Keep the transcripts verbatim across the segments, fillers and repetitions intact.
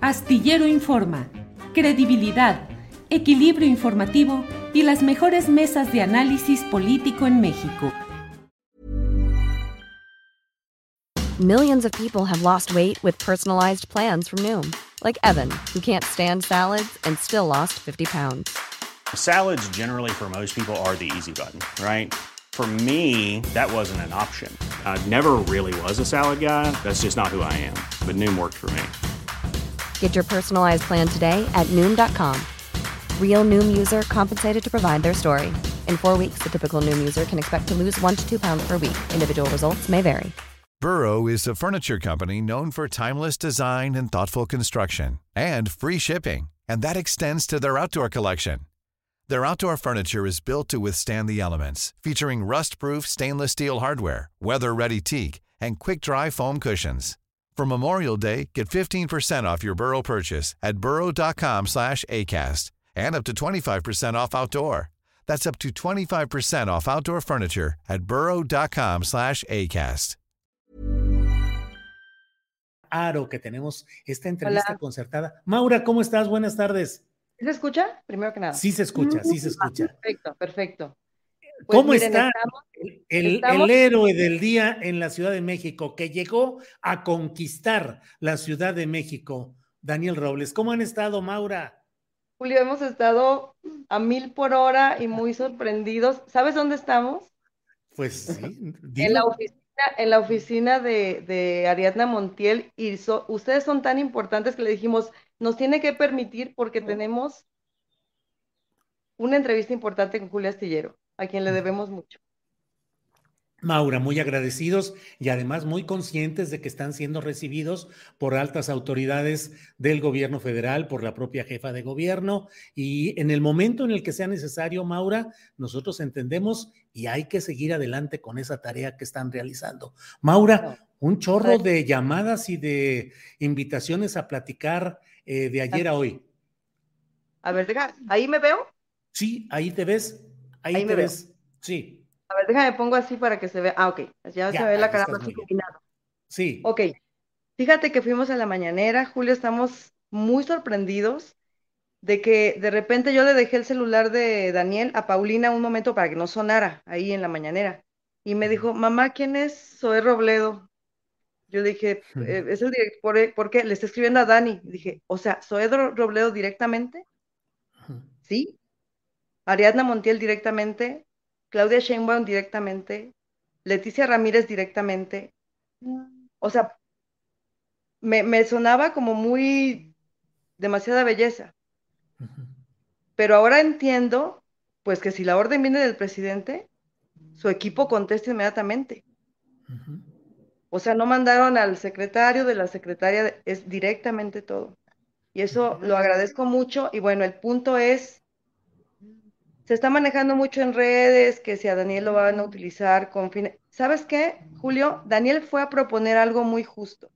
Astillero Informa, credibilidad, equilibrio informativo y las mejores mesas de análisis político en México. Millions of people have lost weight with personalized plans from Noom, like Evan, who can't stand salads and still lost fifty pounds. Salads generally for most people are the easy button, right? For me, that wasn't an option. I never really was a salad guy. That's just not who I am. But Noom worked for me. Get your personalized plan today at Noom dot com. Real Noom user compensated to provide their story. In four weeks, the typical Noom user can expect to lose one to two pounds per week. Individual results may vary. Burrow is a furniture company known for timeless design and thoughtful construction, and free shipping, and that extends to their outdoor collection. Their outdoor furniture is built to withstand the elements, featuring rust-proof stainless steel hardware, weather-ready teak, and quick-dry foam cushions. For Memorial Day, get fifteen percent off your Burrow purchase at burrow dot com slash acast, and up to twenty-five percent off outdoor. That's up to twenty-five percent off outdoor furniture at burrow dot com slash acast. Claro que tenemos esta entrevista Hola. concertada. Maura, ¿cómo estás? Buenas tardes. ¿Se escucha? Primero que nada. Sí se escucha, sí se escucha. Perfecto, perfecto. Pues ¿Cómo miren, está estamos, el, el- estamos- el héroe del día en la Ciudad de México, que llegó a conquistar la Ciudad de México, Daniel Robles? ¿Cómo han estado, Maura? Julio, hemos estado a mil por hora y muy sorprendidos. ¿Sabes dónde estamos? Pues sí, En la dilo. oficina, en la oficina de, de Ariadna Montiel, y so- ustedes son tan importantes que le dijimos, nos tiene que permitir porque tenemos una entrevista importante con Julio Astillero, a quien le debemos mucho. Maura, muy agradecidos y además muy conscientes de que están siendo recibidos por altas autoridades del gobierno federal, por la propia jefa de gobierno, y en el momento en el que sea necesario, Maura, nosotros entendemos y hay que seguir adelante con esa tarea que están realizando. Maura, un chorro de llamadas y de invitaciones a platicar eh, de ayer a hoy. A ver, deja, ¿ahí me veo? Sí, ahí te ves, ahí, Ahí te me veo. ves, sí, A ver, déjame pongo así para que se vea. Ah, ok, ya, Ya, se ve la ahí cara estás más muy bien. iluminada. sí. Ok, fíjate que fuimos a la mañanera, Julio, estamos muy sorprendidos de que de repente yo le dejé el celular de Daniel a Paulina un momento para que no sonara ahí en la mañanera. Y me dijo, mamá, ¿quién es Zoé Robledo? Yo le dije, "Eh, es el director, ¿por qué? Le está escribiendo a Dani. Y dije, o sea, ¿Zoé Ro- Robledo directamente? Sí. Ariadna Montiel directamente, Claudia Sheinbaum directamente, Leticia Ramírez directamente. O sea, me, me sonaba como muy demasiada belleza. Pero ahora entiendo, pues que si la orden viene del presidente, su equipo contesta inmediatamente. O sea, no mandaron al secretario de la secretaria, es directamente todo. Y eso lo agradezco mucho. Y bueno, el punto es, se está manejando mucho en redes, que si a Daniel lo van a utilizar con fines... ¿Sabes qué, Julio? Daniel fue a proponer algo muy justo.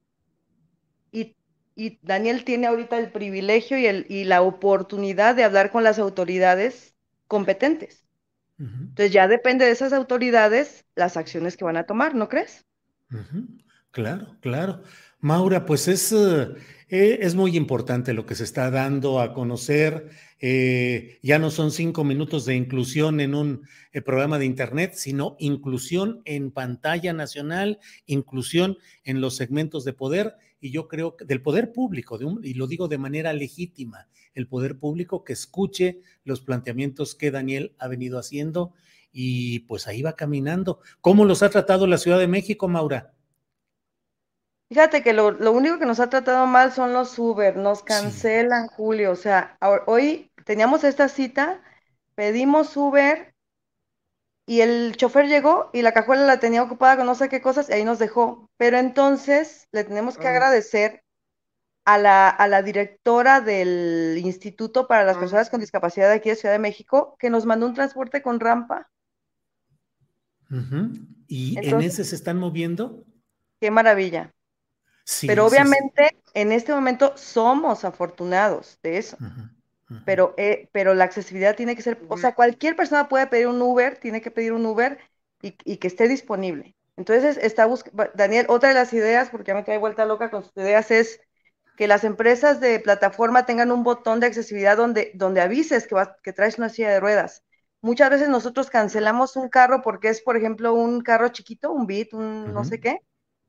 Y, y Daniel tiene ahorita el privilegio y, el, y la oportunidad de hablar con las autoridades competentes. Ujú. Entonces ya depende de esas autoridades las acciones que van a tomar, ¿no crees? Ujú. Claro, claro. Maura, pues es, eh, eh, es muy importante lo que se está dando a conocer. Eh, ya no son cinco minutos de inclusión en un eh, programa de internet, sino inclusión en pantalla nacional, inclusión en los segmentos de poder, y yo creo que del poder público, de un- y lo digo de manera legítima, el poder público que escuche los planteamientos que Daniel ha venido haciendo, y pues ahí va caminando. ¿Cómo los ha tratado la Ciudad de México, Maura? Fíjate que lo, lo único que nos ha tratado mal son los Uber, nos Sí. cancelan, Julio. O sea, ahor- hoy teníamos esta cita, pedimos Uber y el chofer llegó y la cajuela la tenía ocupada con no sé qué cosas y ahí nos dejó. Pero entonces le tenemos que agradecer a la, a la directora del Instituto para las Personas con Discapacidad de aquí de Ciudad de México que nos mandó un transporte con rampa. Ujú. ¿Y en Entonces, ese se están moviendo? qué maravilla. Sí, Pero sí, sí. obviamente en este momento somos afortunados de eso. Ujú, ujú. Pero, eh, pero la accesibilidad tiene que ser, o sea, cualquier persona puede pedir un Uber, tiene que pedir un Uber y, y que esté disponible. Entonces, está buscando, Daniel, otra de las ideas, porque ya me trae vuelta loca con sus ideas, es que las empresas de plataforma tengan un botón de accesibilidad donde, donde avises que, vas, que traes una silla de ruedas. Muchas veces nosotros cancelamos un carro porque es, por ejemplo, un carro chiquito, un Beat, un uh-huh. no sé qué,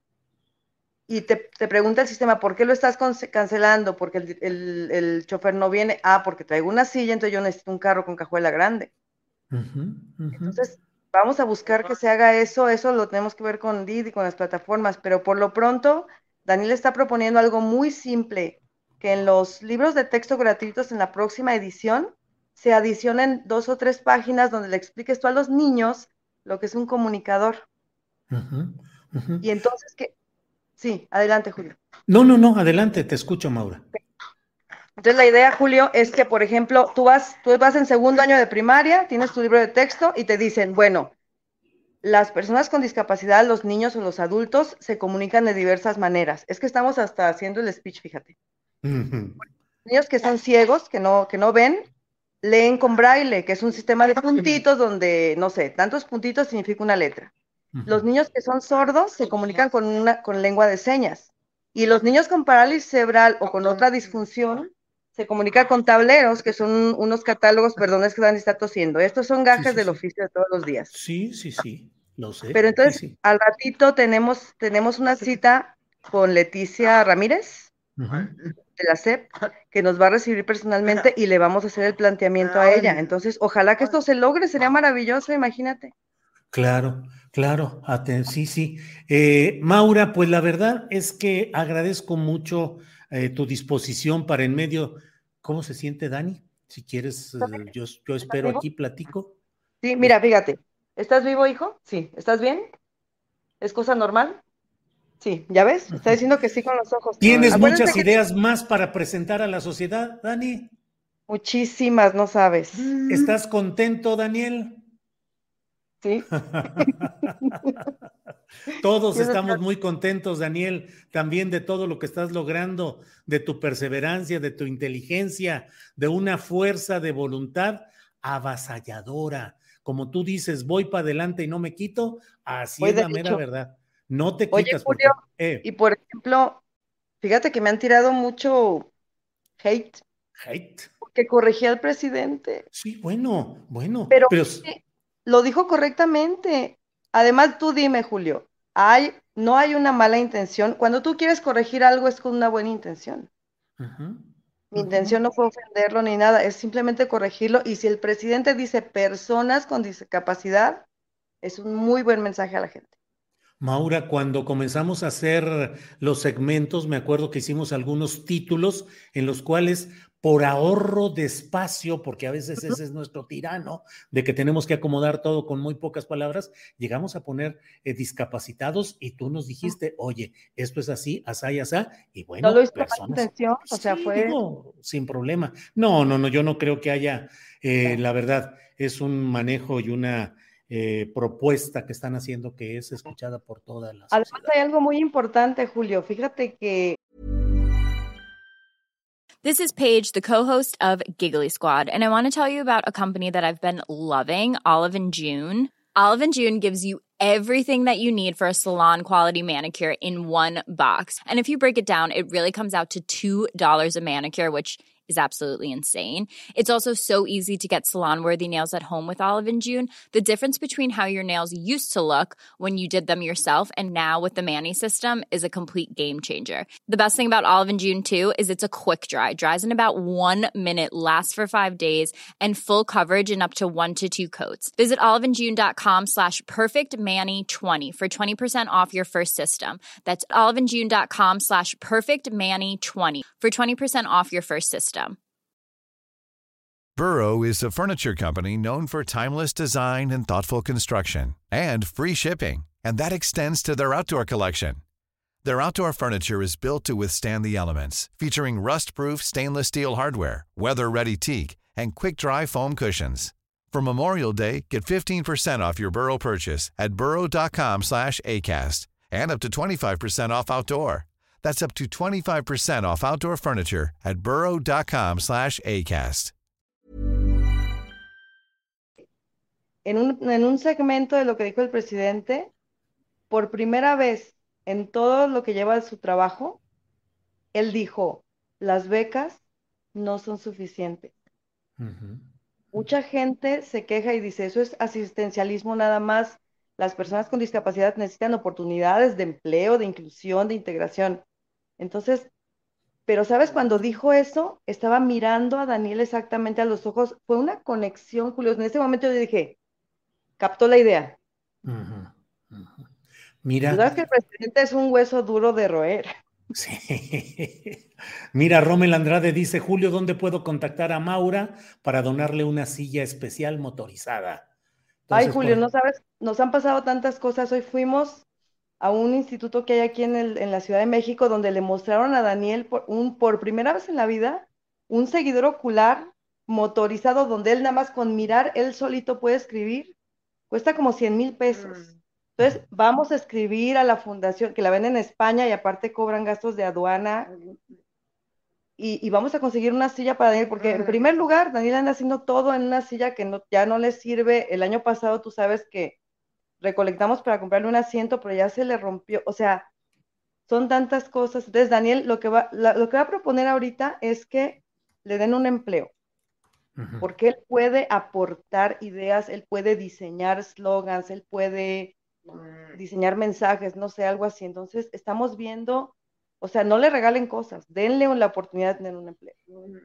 y te, te pregunta el sistema, ¿por qué lo estás cancelando? Porque el, el, el chofer no viene. Ah, porque traigo una silla, entonces yo necesito un carro con cajuela grande. Uh-huh, uh-huh. Entonces, vamos a buscar que se haga eso, eso lo tenemos que ver con Didi, con las plataformas, pero por lo pronto, Daniel está proponiendo algo muy simple, que en los libros de texto gratuitos en la próxima edición se adicionen dos o tres páginas donde le expliques tú a los niños lo que es un comunicador. Uh-huh, uh-huh. Y entonces, que sí, adelante, Julio. No, no, no, adelante, te escucho, Maura. Entonces la idea, Julio, es que, por ejemplo, tú vas, tú vas en segundo año de primaria, tienes tu libro de texto y te dicen, bueno, las personas con discapacidad, los niños o los adultos, se comunican de diversas maneras. Es que estamos hasta haciendo el speech, fíjate. Uh-huh. Niños que son ciegos, que no, que no ven, leen con braille, que es un sistema de puntitos donde, no sé, tantos puntitos significa una letra. Uh-huh. Los niños que son sordos se comunican con, una, con lengua de señas. Y los niños con parálisis cerebral o con otra disfunción se comunican con tableros, que son unos catálogos, perdón, es que Dani está tosiendo. Estos son gajes sí, sí, del sí. oficio de todos los días. Sí, sí, sí, lo sé. Pero entonces, sí, sí. al ratito tenemos, tenemos una cita con Leticia Ramírez, uh-huh. de la C E P, que nos va a recibir personalmente y le vamos a hacer el planteamiento a ella. Entonces, ojalá que esto se logre, sería maravilloso, imagínate. Claro, claro, sí, sí. Eh, Maura, pues la verdad es que agradezco mucho eh, tu disposición para en medio. ¿Cómo se siente Dani? Si quieres, eh, yo, yo espero aquí, platico. Sí, mira, fíjate. ¿Estás vivo, hijo? Sí. ¿Estás bien? ¿Es cosa normal? Sí, ¿ya ves? Está diciendo que sí con los ojos. ¿Tienes Acuérdense muchas ideas que... más para presentar a la sociedad, Dani? Muchísimas, no sabes. ¿Estás contento, Daniel? Sí. Todos estamos muy contentos, Daniel, también de todo lo que estás logrando, de tu perseverancia, de tu inteligencia, de una fuerza de voluntad avasalladora. Como tú dices, voy para adelante y no me quito, así voy es la mera hecho. verdad. No te quitas. Oye, Julio, porque, eh. y por ejemplo, fíjate que me han tirado mucho hate. Hate. Porque corregí al presidente. Sí, bueno, bueno. Pero, pero... lo dijo correctamente. Además, tú dime, Julio, hay, no hay una mala intención. Cuando tú quieres corregir algo es con una buena intención. Uh-huh. Mi uh-huh. intención no fue ofenderlo ni nada, es simplemente corregirlo. Y si el presidente dice personas con discapacidad, es un muy buen mensaje a la gente. Maura, cuando comenzamos a hacer los segmentos, me acuerdo que hicimos algunos títulos en los cuales, por ahorro de espacio, porque a veces ese es nuestro tirano, de que tenemos que acomodar todo con muy pocas palabras, llegamos a poner eh, discapacitados y tú nos dijiste, oye, esto es así, asá y asá, y bueno, no lo hizo personas, con intención, o sea, sí, fue... digo, sin problema. No, no, no, yo no creo que haya, eh, la verdad, es un manejo y una... Eh, propuesta que están haciendo que es escuchada por todas las Además hay algo muy importante, Julio, fíjate que This is Paige, the co-host of Giggly Squad, and I want to tell you about a company that I've been loving, Olive and June. Olive and June gives you everything that you need for a salon quality manicure in one box. And if you break it down, it really comes out to two dollars a manicure, which is absolutely insane. It's also so easy to get salon-worthy nails at home with Olive and June. The difference between how your nails used to look when you did them yourself and now with the Mani system is a complete game changer. The best thing about Olive and June, too, is it's a quick dry. Dries in about one minute, lasts for five days, and full coverage in up to one to two coats. Visit oliveandjune.com slash perfectmanny20 for twenty percent off your first system. That's oliveandjune.com slash perfectmanny20 for twenty percent off your first system. Burrow is a furniture company known for timeless design and thoughtful construction, and free shipping, and that extends to their outdoor collection. Their outdoor furniture is built to withstand the elements, featuring rust-proof stainless steel hardware, weather-ready teak, and quick-dry foam cushions. For Memorial Day, get fifteen percent off your Burrow purchase at burrow.com slash ACAST and up to twenty-five percent off outdoor. That's up to twenty-five percent off outdoor furniture at burrow.com slash ACAST. En un, en un segmento de lo que dijo el presidente, por primera vez en todo lo que lleva de su trabajo, él dijo, las becas no son suficientes. Uh-huh. Mucha gente se queja y dice, eso es asistencialismo nada más. Las personas con discapacidad necesitan oportunidades de empleo, de inclusión, de integración. Entonces, pero sabes, cuando dijo eso, estaba mirando a Daniel exactamente a los ojos. Fue una conexión, Julio. En ese momento yo dije, captó la idea. Uh-huh. Uh-huh. Tú Mira. sabes que el presidente es un hueso duro de roer. Sí. Mira, Rommel Andrade dice, Julio, ¿dónde puedo contactar a Maura para donarle una silla especial motorizada? Ay, Entonces, Julio, por... no sabes, nos han pasado tantas cosas. Hoy fuimos a un instituto que hay aquí en, el, en la Ciudad de México donde le mostraron a Daniel por, un, por primera vez en la vida un seguidor ocular motorizado donde él nada más con mirar, él solito puede escribir. Cuesta como cien mil pesos. Entonces, vamos a escribir a la fundación, que la ven en España y aparte cobran gastos de aduana. Y, y vamos a conseguir una silla para Daniel, porque en primer lugar, Daniel anda haciendo todo en una silla que no, ya no le sirve. El año pasado, tú sabes que recolectamos para comprarle un asiento, pero ya se le rompió. O sea, son tantas cosas. Entonces, Daniel, lo que va, la, lo que va a proponer ahorita es que le den un empleo. Uh-huh. Porque él puede aportar ideas, él puede diseñar slogans, él puede diseñar mensajes, no sé, algo así. Entonces, estamos viendo, o sea, no le regalen cosas, denle la oportunidad de tener un empleo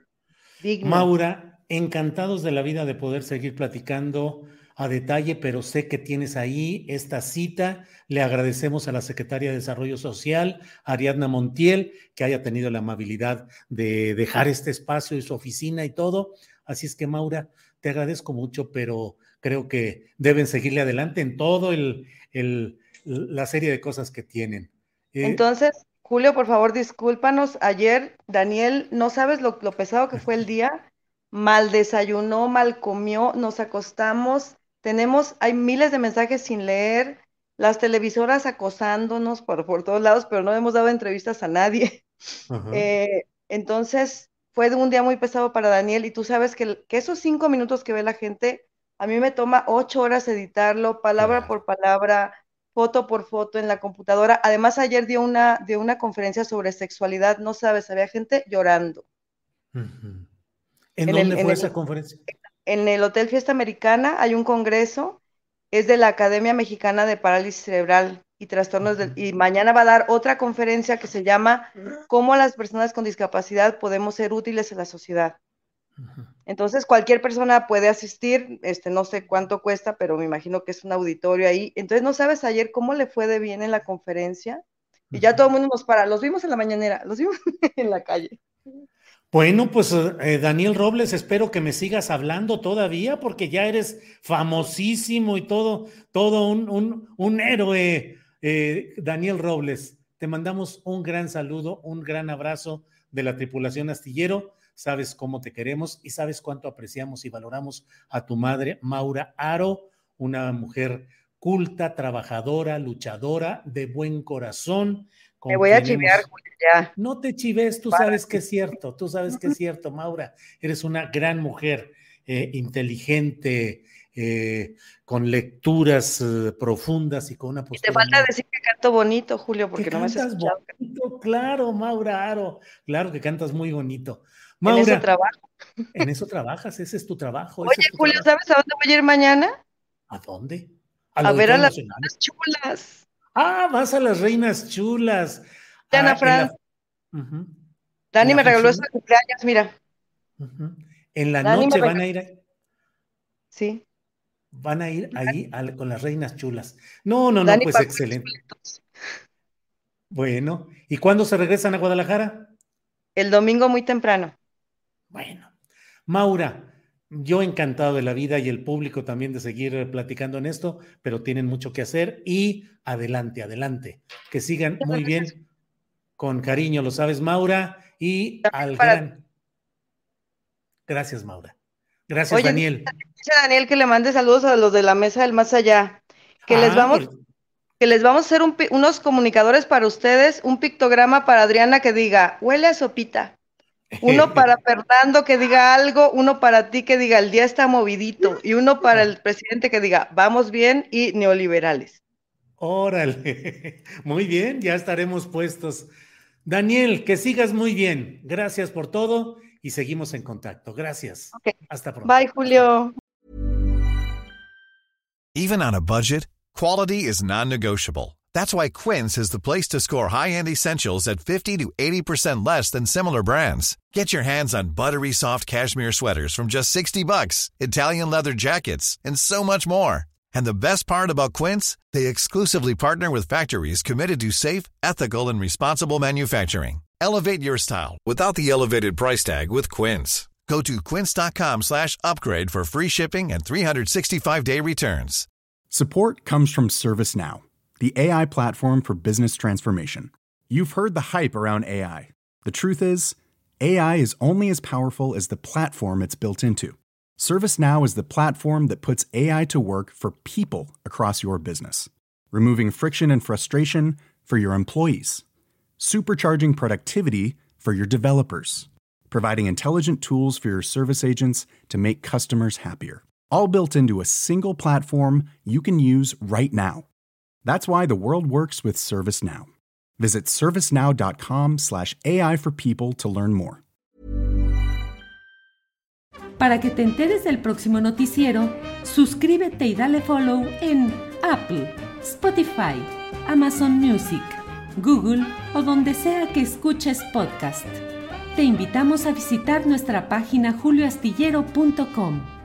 digno. Maura, encantados de la vida de poder seguir platicando a detalle, pero sé que tienes ahí esta cita. Le agradecemos a la Secretaria de Desarrollo Social, Ariadna Montiel, que haya tenido la amabilidad de dejar este espacio y su oficina y todo. Así es que, Maura, te agradezco mucho, pero creo que deben seguirle adelante en todo el, el, la serie de cosas que tienen. Eh, Entonces, Julio, por favor, discúlpanos. Ayer, Daniel, no sabes lo, lo pesado que fue el día. Mal desayunó, mal comió, nos acostamos. Tenemos, hay miles de mensajes sin leer, las televisoras acosándonos por, por todos lados, pero no hemos dado entrevistas a nadie. Uh-huh. eh, entonces, fue un día muy pesado para Daniel y tú sabes que, que esos cinco minutos que ve la gente, a mí me toma ocho horas editarlo, palabra claro. por palabra, foto por foto en la computadora. Además, ayer dio una, dio una conferencia sobre sexualidad, no sabes, había gente llorando. Uh-huh. ¿En, ¿En dónde el, fue en esa el, conferencia? En el Hotel Fiesta Americana hay un congreso, es de la Academia Mexicana de Parálisis Cerebral y Trastornos uh-huh. del, y mañana va a dar otra conferencia que se llama ¿Cómo las personas con discapacidad podemos ser útiles en la sociedad? Uh-huh. Entonces cualquier persona puede asistir, este, no sé cuánto cuesta, pero me imagino que es un auditorio ahí. Entonces no sabes ayer cómo le fue de bien en la conferencia y uh-huh. ya todo el mundo nos para, los vimos en la mañanera, los vimos en la calle. Bueno, pues eh, Daniel Robles, espero que me sigas hablando todavía porque ya eres famosísimo y todo, todo un, un, un héroe, eh, Daniel Robles. Te mandamos un gran saludo, un gran abrazo de la tripulación Astillero. Sabes cómo te queremos y sabes cuánto apreciamos y valoramos a tu madre, Maura Aro, una mujer culta, trabajadora, luchadora, de buen corazón. Me voy a chivear, hemos... ya. No te chives, tú Para. sabes que es cierto, tú sabes que es cierto, Maura. Eres una gran mujer, eh, inteligente, eh, con lecturas eh, profundas y con una postura. Y te falta muy... decir que canto bonito, Julio, porque no me has escuchado. Bonito, claro, Maura Aro, claro que cantas muy bonito. Maura, en eso trabajo. En eso trabajas, ese es tu trabajo. Oye, es tu Julio, trabajo. ¿sabes a dónde voy a ir mañana? ¿A dónde? A ver a las reinas chulas. Ah, vas a las reinas chulas. Ana ah, Fran. La... Uh-huh. Dani me regaló eso de cumpleaños, mira. Uh-huh. En la Dani noche van a ir ahí. Sí. Van a ir ahí a, con las reinas chulas. No, no, no, Dani pues excelente. Bueno, ¿y cuándo se regresan a Guadalajara? El domingo muy temprano. Bueno, Maura, yo encantado de la vida y el público también de seguir platicando en esto, pero tienen mucho que hacer y adelante, adelante. Que sigan muy bien, con cariño, lo sabes, Maura, y al Para... gran... Gracias, Maura. Gracias, Oye, Daniel. Dice Daniel que le mande saludos a los de la mesa del más allá, que ah, les vamos... Por... que les vamos a hacer un, unos comunicadores para ustedes, un pictograma para Adriana que diga, huele a sopita. Uno para Fernando que diga algo, uno para ti que diga el día está movidito y uno para el presidente que diga vamos bien y neoliberales. Órale, muy bien, ya estaremos puestos. Daniel, que sigas muy bien. Gracias por todo y seguimos en contacto. Gracias. Okay. Hasta pronto. Bye, Julio. Even on a budget, quality is non-negotiable. That's why Quince is the place to score high-end essentials at fifty to eighty percent less than similar brands. Get your hands on buttery soft cashmere sweaters from just sixty bucks, Italian leather jackets, and so much more. And the best part about Quince, they exclusively partner with factories committed to safe, ethical, and responsible manufacturing. Elevate your style without the elevated price tag with Quince. Go to quince.com slash upgrade for free shipping and three sixty-five day returns. Support comes from ServiceNow, the A I platform for business transformation. You've heard the hype around A I. The truth is, A I is only as powerful as the platform it's built into. ServiceNow is the platform that puts A I to work for people across your business, removing friction and frustration for your employees, supercharging productivity for your developers, providing intelligent tools for your service agents to make customers happier, all built into a single platform you can use right now. That's why the world works with ServiceNow. Visit servicenow.com slash AI for people to learn more. Para que te enteres del próximo noticiero, suscríbete y dale follow en Apple, Spotify, Amazon Music, Google o donde sea que escuches podcast. Te invitamos a visitar nuestra página julio astillero punto com.